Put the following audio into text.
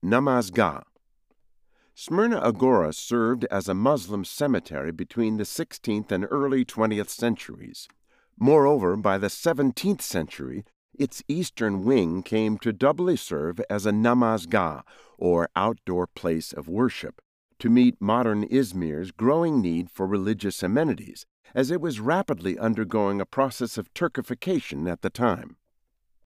Namazgah. Smyrna Agora served as a Muslim cemetery between the 16th and early 20th centuries. Moreover, by the 17th century, its eastern wing came to doubly serve as a namazgah, or outdoor place of worship, to meet modern Izmir's growing need for religious amenities, as it was rapidly undergoing a process of Turkification at the time.